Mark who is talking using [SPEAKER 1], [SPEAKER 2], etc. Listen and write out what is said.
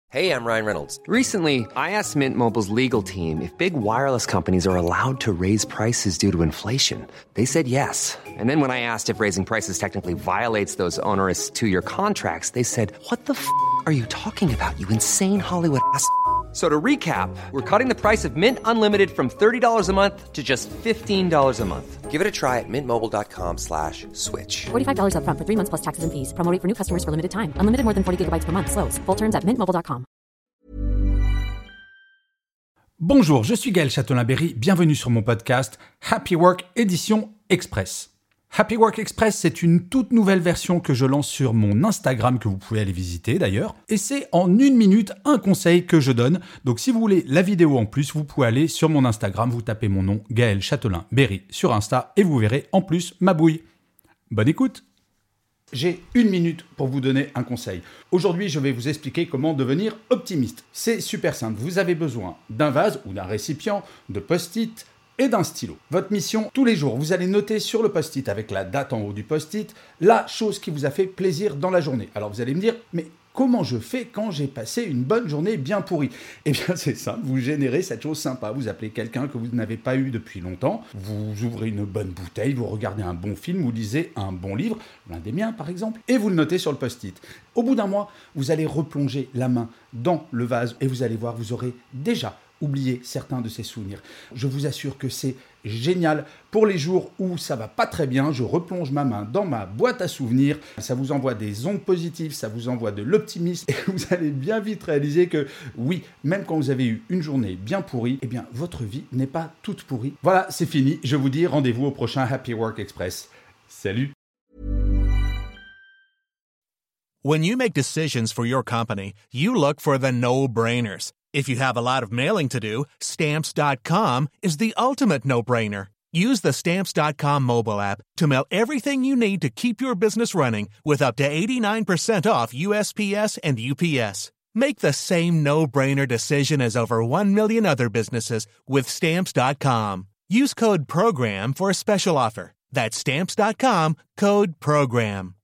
[SPEAKER 1] Hey, I'm Ryan Reynolds.
[SPEAKER 2] Recently, I asked Mint Mobile's legal team if big wireless companies are allowed to raise prices due to inflation. They said yes. And then when I asked if raising prices technically violates those onerous two-year contracts, they said, "What the f*** are you talking about, you insane Hollywood ass?" So to recap, we're cutting the price of Mint Unlimited from $30 a month to just $15 a month.
[SPEAKER 1] Give it a try at mintmobile.com/switch.
[SPEAKER 3] $45 up front for 3 months plus taxes and fees. Promo rate for new customers for limited time. Unlimited more than 40 gigabytes per month. Slows full terms at mintmobile.com.
[SPEAKER 4] Bonjour, je suis Gaël Châtelain-Berry. Bienvenue sur mon podcast Happy Work édition Express. Happy Work Express, c'est une toute nouvelle version que je lance sur mon Instagram, que vous pouvez aller visiter d'ailleurs. Et c'est en 1 minute un conseil que je donne. Donc si vous voulez la vidéo en plus, vous pouvez aller sur mon Instagram, vous tapez mon nom, Gaël Châtelain-Berry sur Insta, et vous verrez en plus ma bouille. Bonne écoute. J'ai 1 minute pour vous donner un conseil. Aujourd'hui, je vais vous expliquer comment devenir optimiste. C'est super simple. Vous avez besoin d'un vase ou d'un récipient, de post-it, et d'un stylo. Votre mission, tous les jours, vous allez noter sur le post-it, avec la date en haut du post-it, la chose qui vous a fait plaisir dans la journée. Alors vous allez me dire, mais comment je fais quand j'ai passé une bonne journée bien pourrie ? Eh bien c'est simple, vous générez cette chose sympa. Vous appelez quelqu'un que vous n'avez pas eu depuis longtemps, vous ouvrez une bonne bouteille, vous regardez un bon film, vous lisez un bon livre, l'un des miens par exemple, et vous le notez sur le post-it. Au bout d'un mois, vous allez replonger la main dans le vase et vous allez voir, vous aurez déjà oublier certains de ces souvenirs. Je vous assure que c'est génial. Pour les jours où ça va pas très bien, je replonge ma main dans ma boîte à souvenirs. Ça vous envoie des ondes positives, ça vous envoie de l'optimisme et vous allez bien vite réaliser que oui, même quand vous avez eu une journée bien pourrie, eh bien votre vie n'est pas toute pourrie. Voilà, c'est fini. Je vous dis rendez-vous au prochain Happy Work Express. Salut.
[SPEAKER 5] When you make decisions for your company, you look for the no-brainers. If you have a lot of mailing to do, Stamps.com is the ultimate no-brainer. Use the Stamps.com mobile app to mail everything you need to keep your business running with up to 89% off USPS and UPS. Make the same no-brainer decision as over 1 million other businesses with Stamps.com. Use code PROGRAM for a special offer. That's Stamps.com, code PROGRAM.